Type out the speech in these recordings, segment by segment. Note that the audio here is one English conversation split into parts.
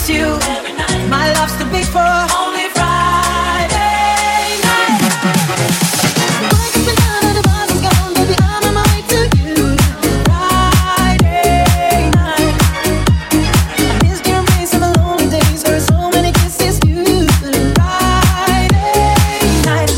miss you. My love's too big for only Friday night. Wake up and the bus is gone, baby, I'm on my way to you. Friday night. I missed your embrace on the lonely days where so many kisses you. Friday night.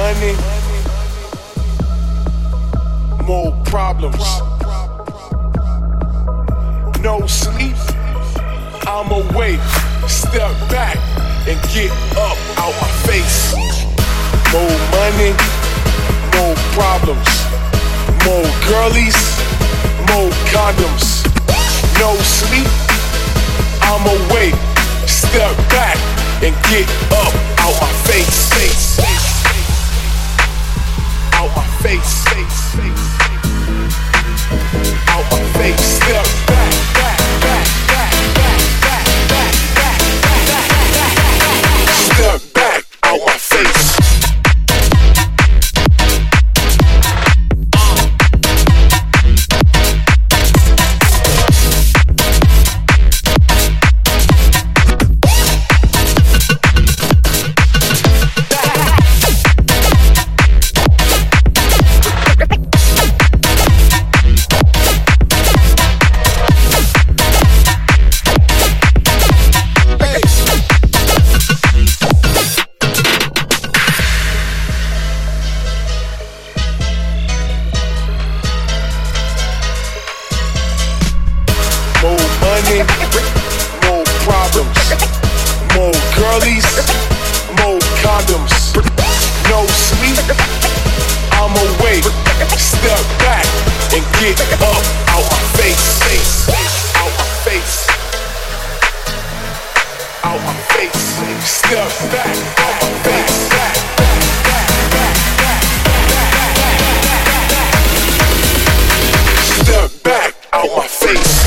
money, more problems. No sleep, I'm awake. Step back and get up out my face. More money, more problems. More girlies, more condoms. No sleep, I'm awake. Step back and get up out my face. Out my face. Out my face. Step back, back, back, back, back, back, back, back, back, back. Step back out my face. More problems, more girlies, more condoms. No sleep, I'm awake. Step back and get up out my face. Out my face. Out my face. Step back out my face. Step back out my face.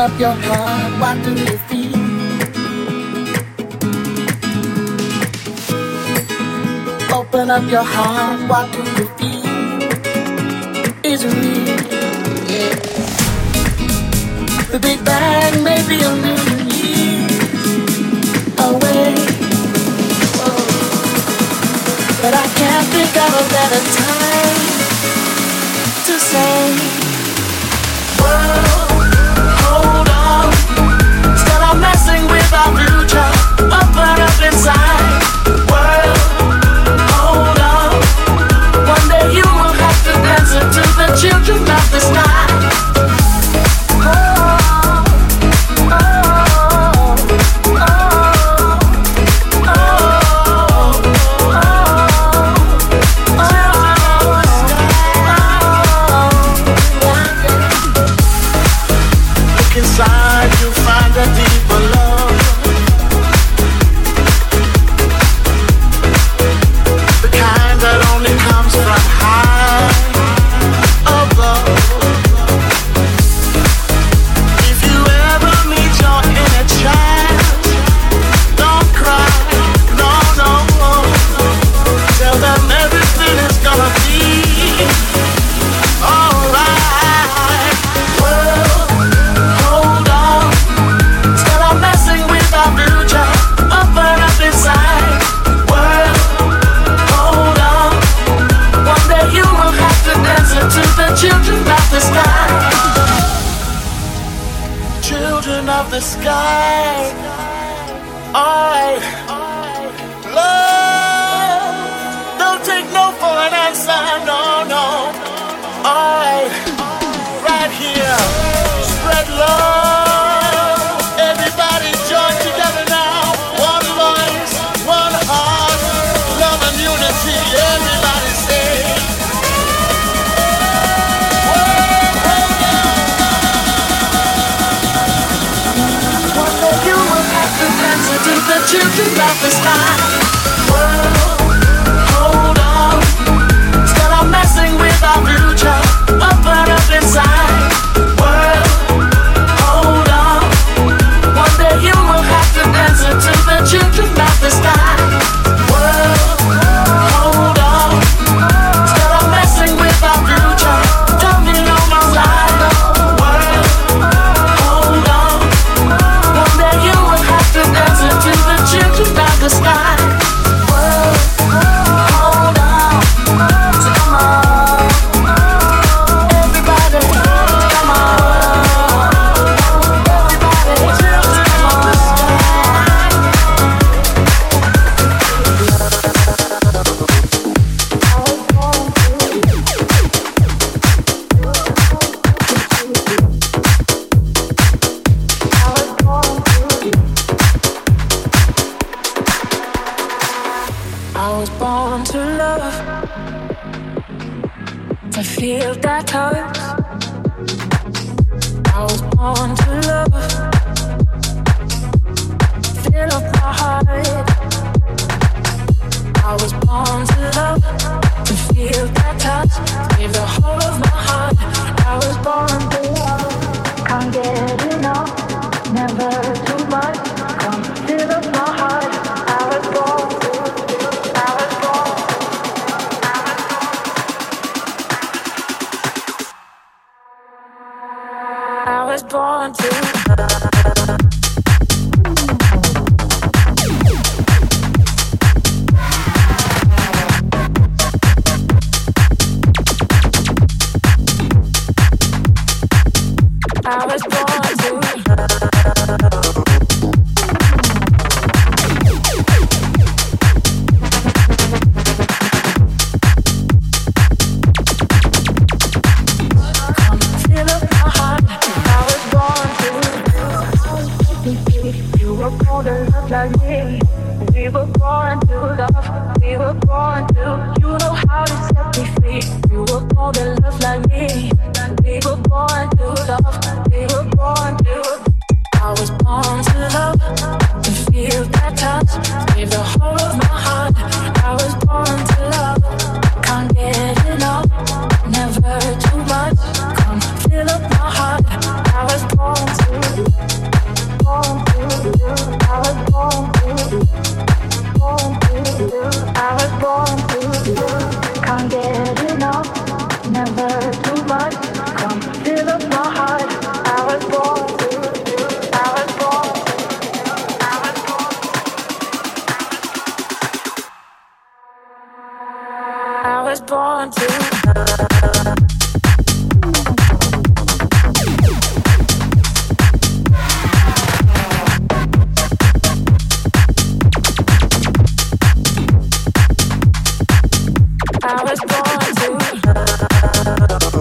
up your heart, what do you feel? Open up your heart, what do you feel? Is it real? Yeah. The Big Bang may be a million years away, oh, but I can't think of a better time to say, world, hold on. Still I'm messing with our future. Open up inside. World, hold on. One day you will have to answer to the children of the sky. Inside you find a deeper love, the kind that only comes from high above. If you ever meet your inner child, don't cry, no, no. Tell them everything is gonna be alright. Hold on, still I'm messing with our future. Open up inside. World, hold on. One day you will have to answer to the children of the sky. Children of the sky. Alright. Love, don't take no for an answer. No, no. Alright. Right here. Spread love. Everybody join together now. One voice, one heart. Love and unity. Everybody say. One day you will have to answer to the children of the sky. World, hold on. Still I'm messing with our future. Open up inside. World, hold on. One day you will have to answer to the children of the sky. World, hold on. Still I'm messing with our future. Don't be on my side. World, hold on. One day you will have to answer to the children of the sky. World, hold on. So come on, everybody, come on, everybody, come on. I was born to love, to feel that touch. I was born to love, fill up my heart. I was born to love, to feel that touch, give the whole of my heart. I was born to love, can't get enough, never too much. Come fill up my heart. I was born to, I was born, I was born to love. I was born to love. Come fill up my heart. I was born to. You were born to love like me. We were born to love. We were born to. You know how to set me free. You were born to love like me. We were born to love. We were born to. I was born to love, to feel that touch, give the whole of my heart. I was born to love, can't get enough, never too much. Come fill up my heart. I was born to born to I was born to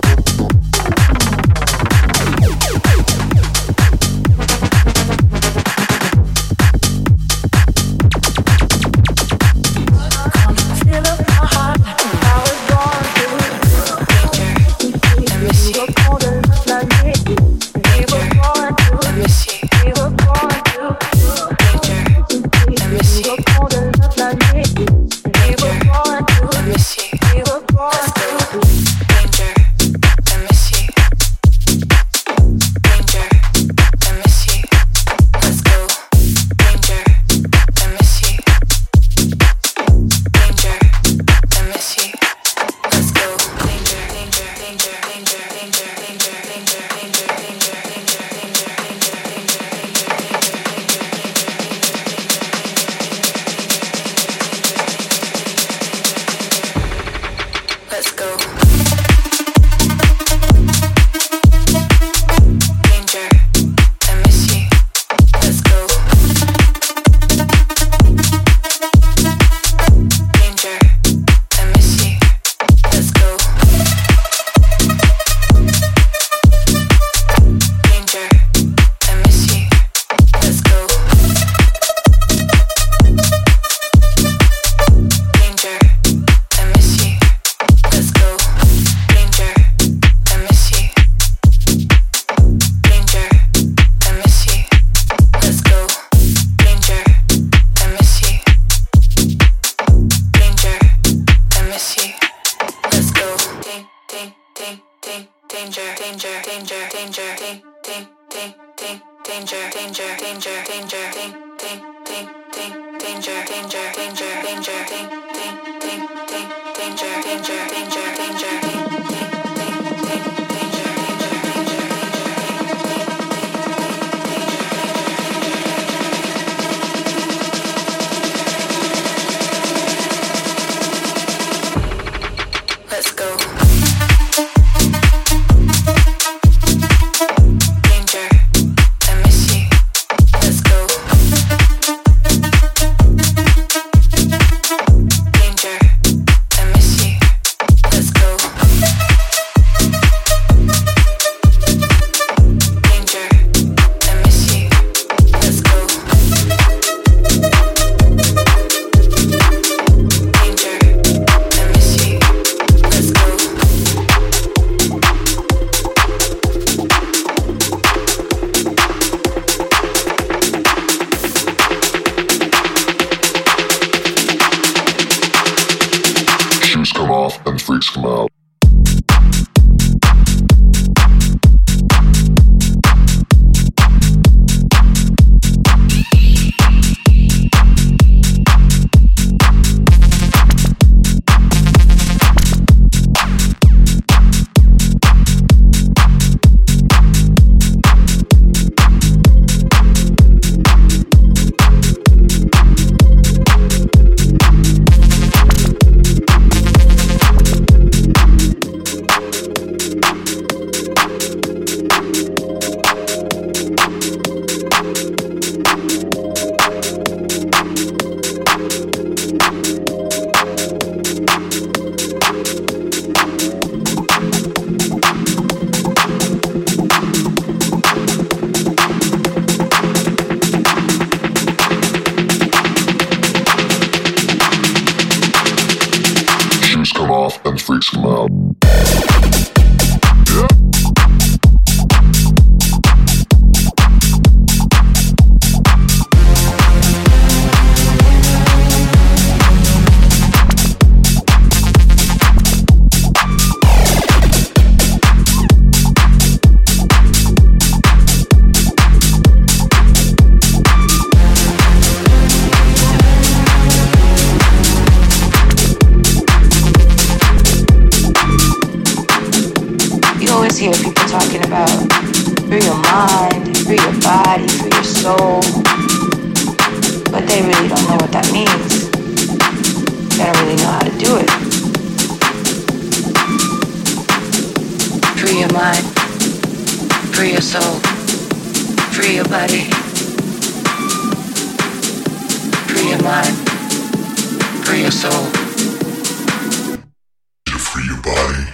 they really don't know what that means. They don't really know how to do it. Free your mind, free your soul, free your body. Free your mind, free your soul. Free your body.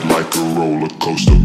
side like a roller coaster.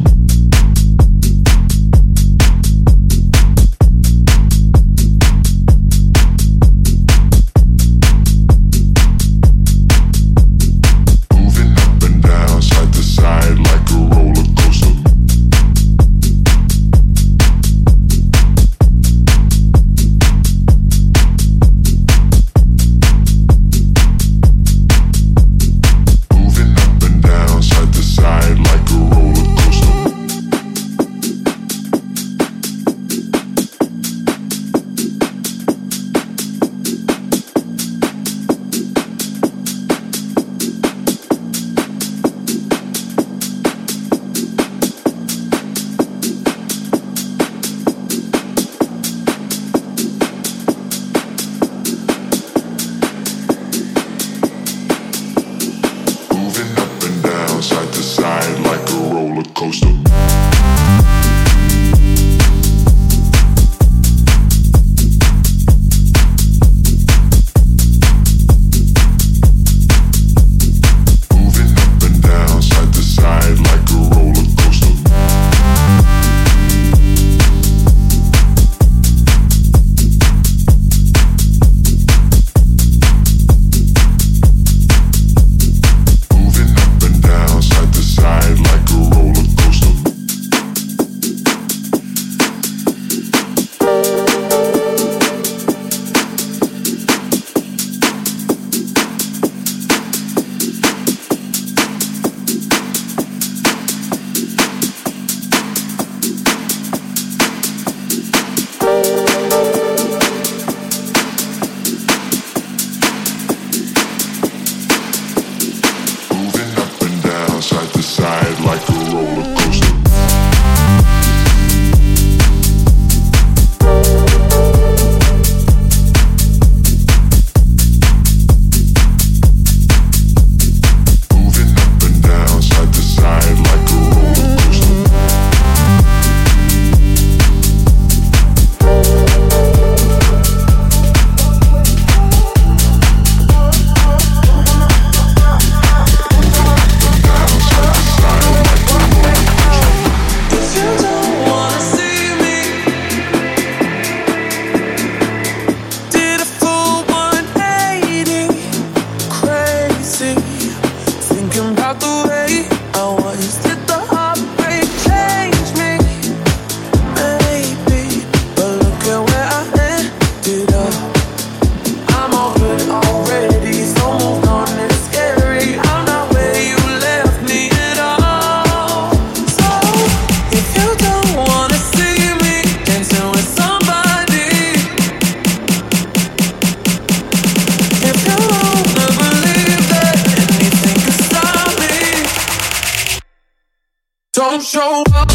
Don't show up.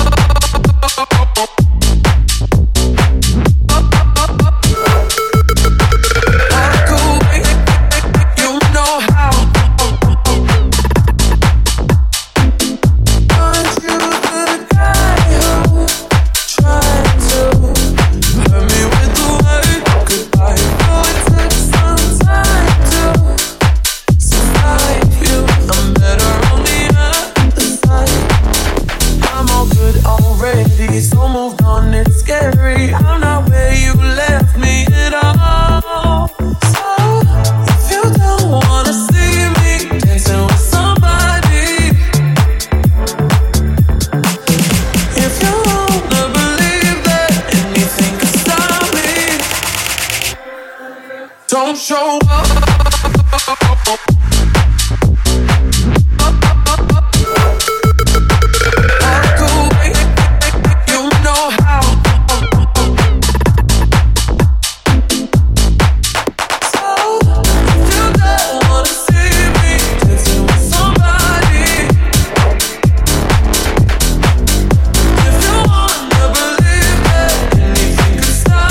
Don't show up.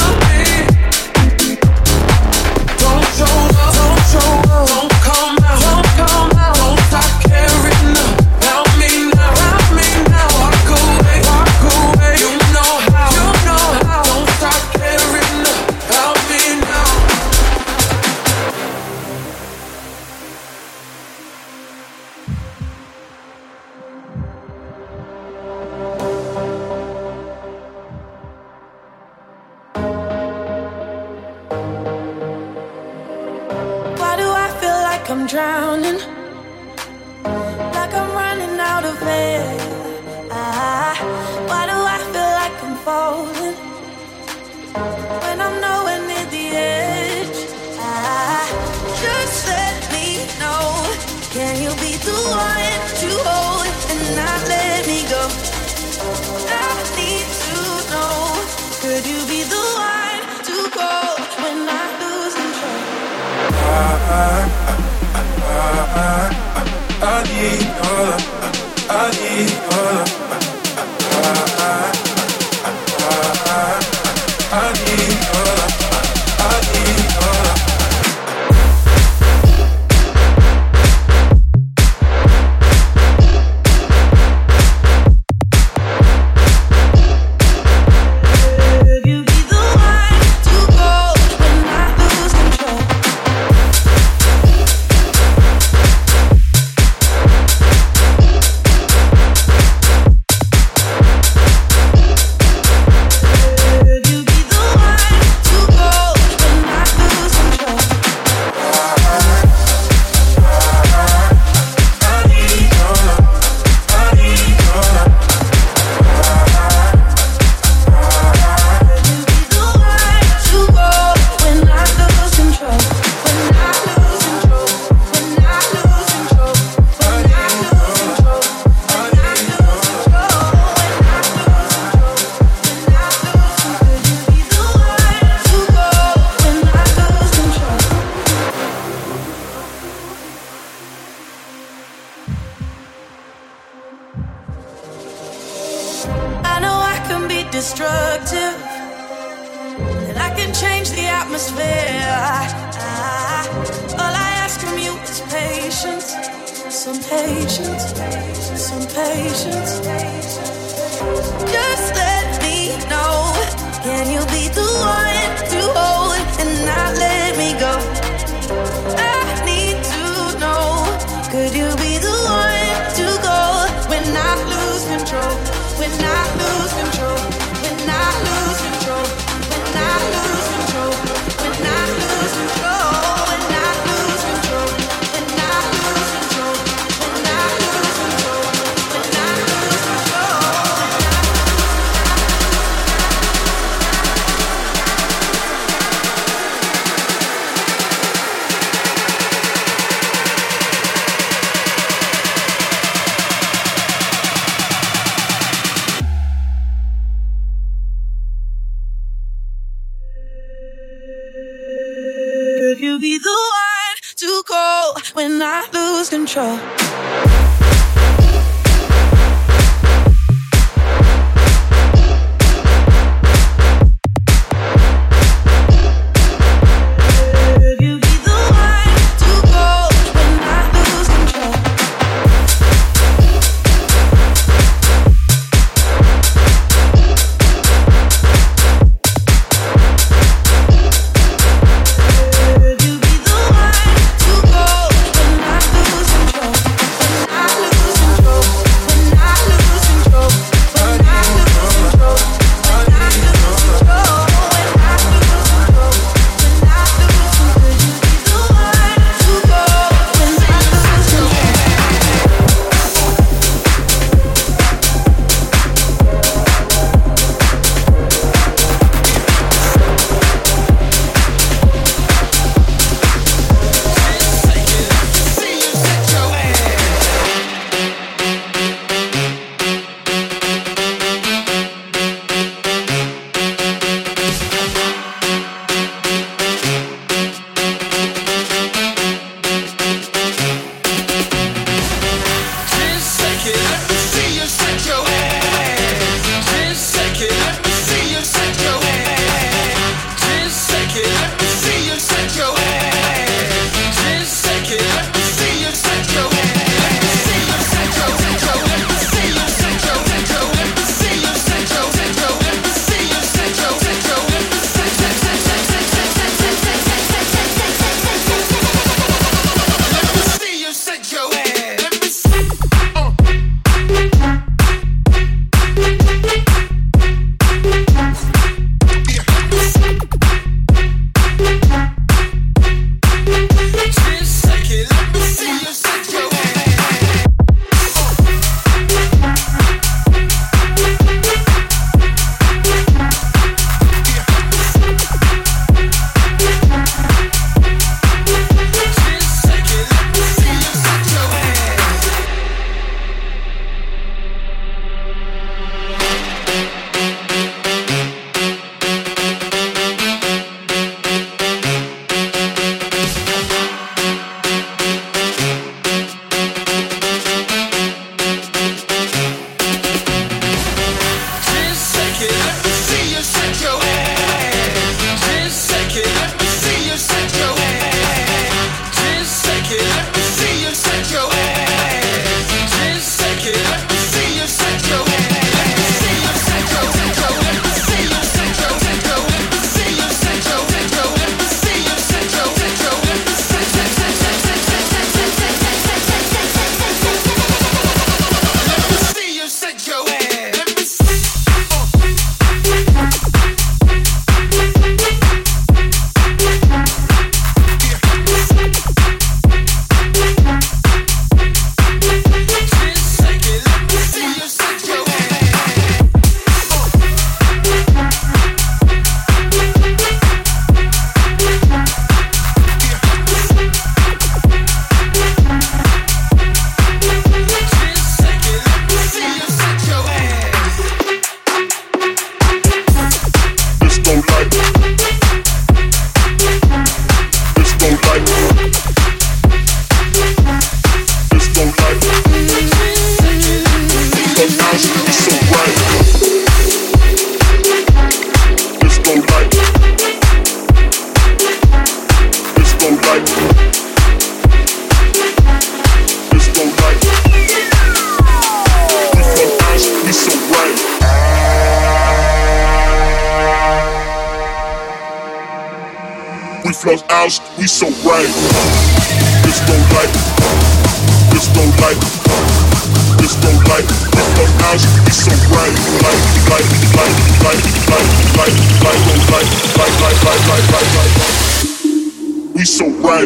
Don't come out. I'm drowning, like I'm running out of air. Why do I feel like I'm falling when I'm nowhere near the edge? Just let me know, can you be the one to hold and not let me go? I need to know, could you be the one to go when I lose control? I need your love. I need your love. I need your love. I need your love. Destructive, and I can change the atmosphere. All I ask from you is patience, some patience, some patience. Just let me know, can you be the one to hold and not let me go? I need to know, could you be the one to go when I lose control? When I lose control, when I lose control, when I lose control, when I lose control, when I lose control, when I lose control, when I lose control, when I lose control. Could you be the one to go when I lose control? I like, disco like. We from Ash, we so right. We from Ash, we so right. Disco like, disco like, disco like. We from Ash, we so right. Like. We so right.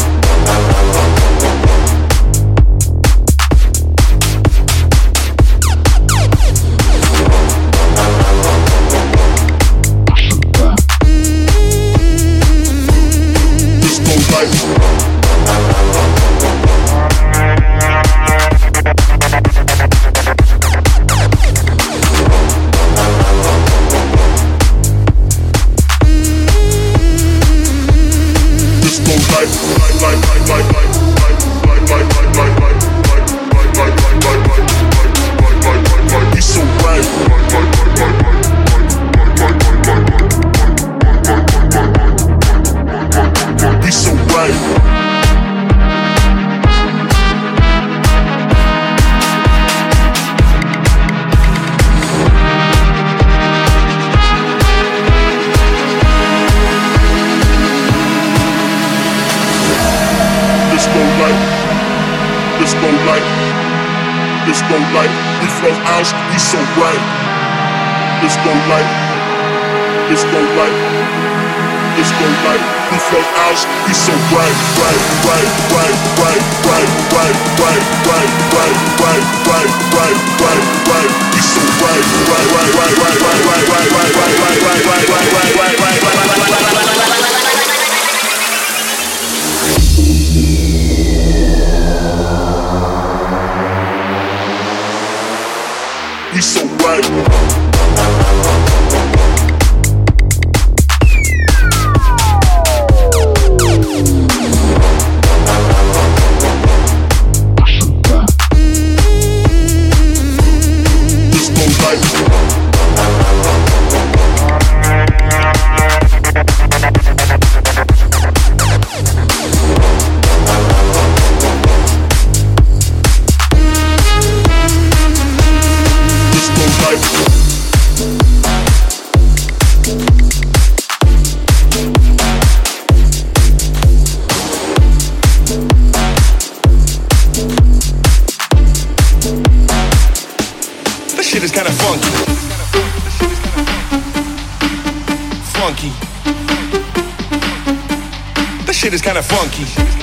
Shit is kinda funky.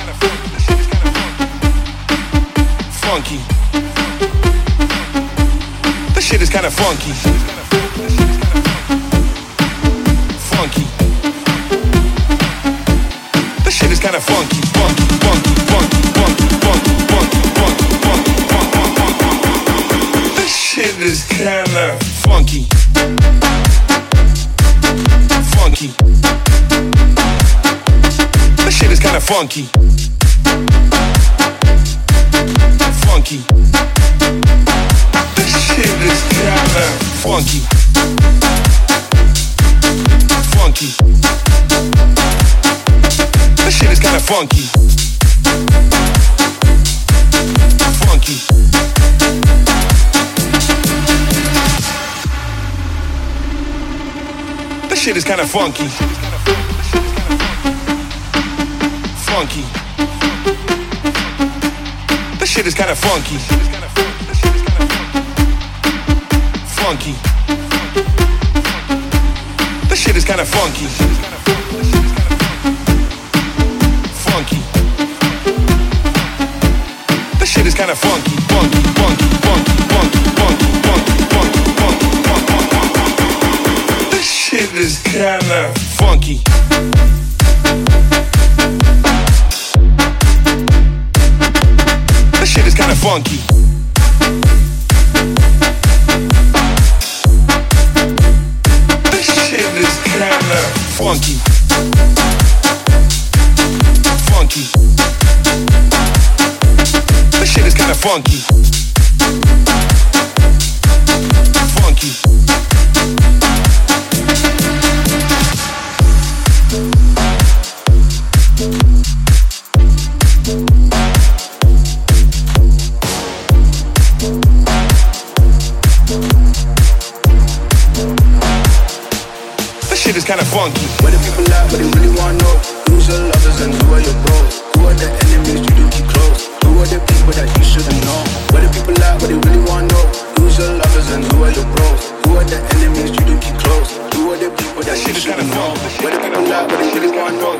Funky. The shit is kinda funky. Funky. The shit is kinda funky. Funky, funky, funky, funky, funky, funky, funky, funky, funky. The shit is kinda funky. Funky. The shit is kinda funky. Funky. This shit is kinda funky. Funky. This shit is kinda funky. Funky. This shit is kinda funky. Funky. This shit is kinda funky. Funky. This shit is kinda funky. Funky. This shit is kinda funky. Funky, funky, funky, funky, funky, funky, funky, funky, funky. This shit is kinda funky. This shit is kinda funky. This shit is kinda funky. Funky. This shit is kinda funky. Funky.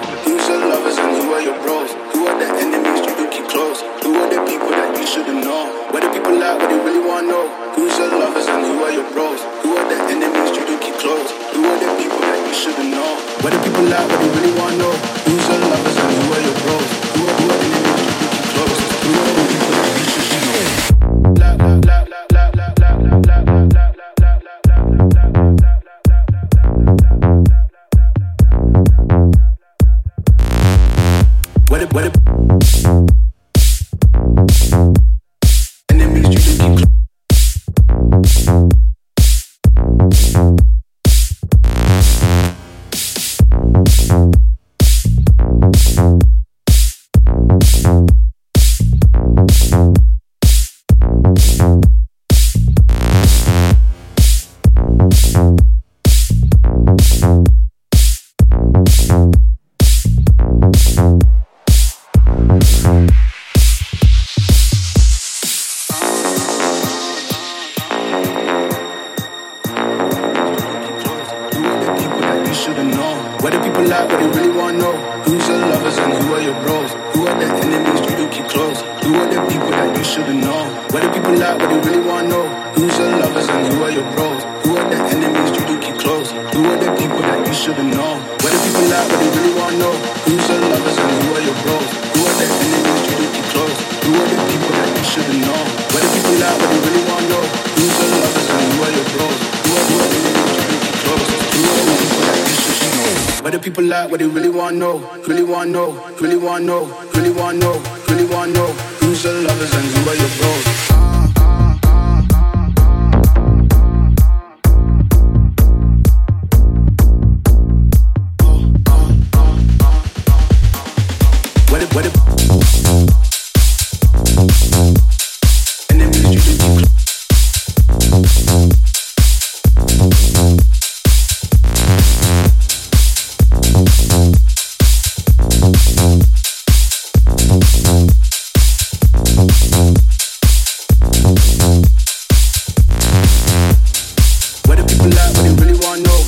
Who's your lovers and who are your bros? Who are the enemies you do keep close? Who are the people that you shouldn't know? Where the people at, what they really want to know? Who's your lovers and who are your bros? Who are the enemies you do keep close? Who are the people that you shouldn't know? Where the people at, what they really want to know? Who's your lovers and who are your bros? Who are the enemies you do keep close? Who are the people that you shouldn't know? Enemies you do keep close. Where the people at, what they really want to know? Who's your lovers and who are your bros? Who are the enemies you do keep close? Who are the people that you shouldn't know? Where the people at, what they really want to know? Who's your lovers and who are your bros? Who are the enemies you do keep close? Who are the people that you shouldn't know? Where the people at, what they really want to know? Who's your lovers and who are your bros? Who are the enemies you do keep close? Who are the people that you shouldn't know? Where the people at, what they really want to know? Who's your lovers and who are your bros? Who are the enemies you do keep close? Who are the people that you shouldn't know? Where the people at, what they really want to know? Really want to know? Really want to know? Really want to know? Really want to know? Who's your lovers and who are your bros?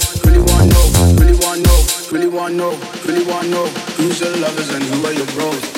Really want to know who's your lovers and who are your bros?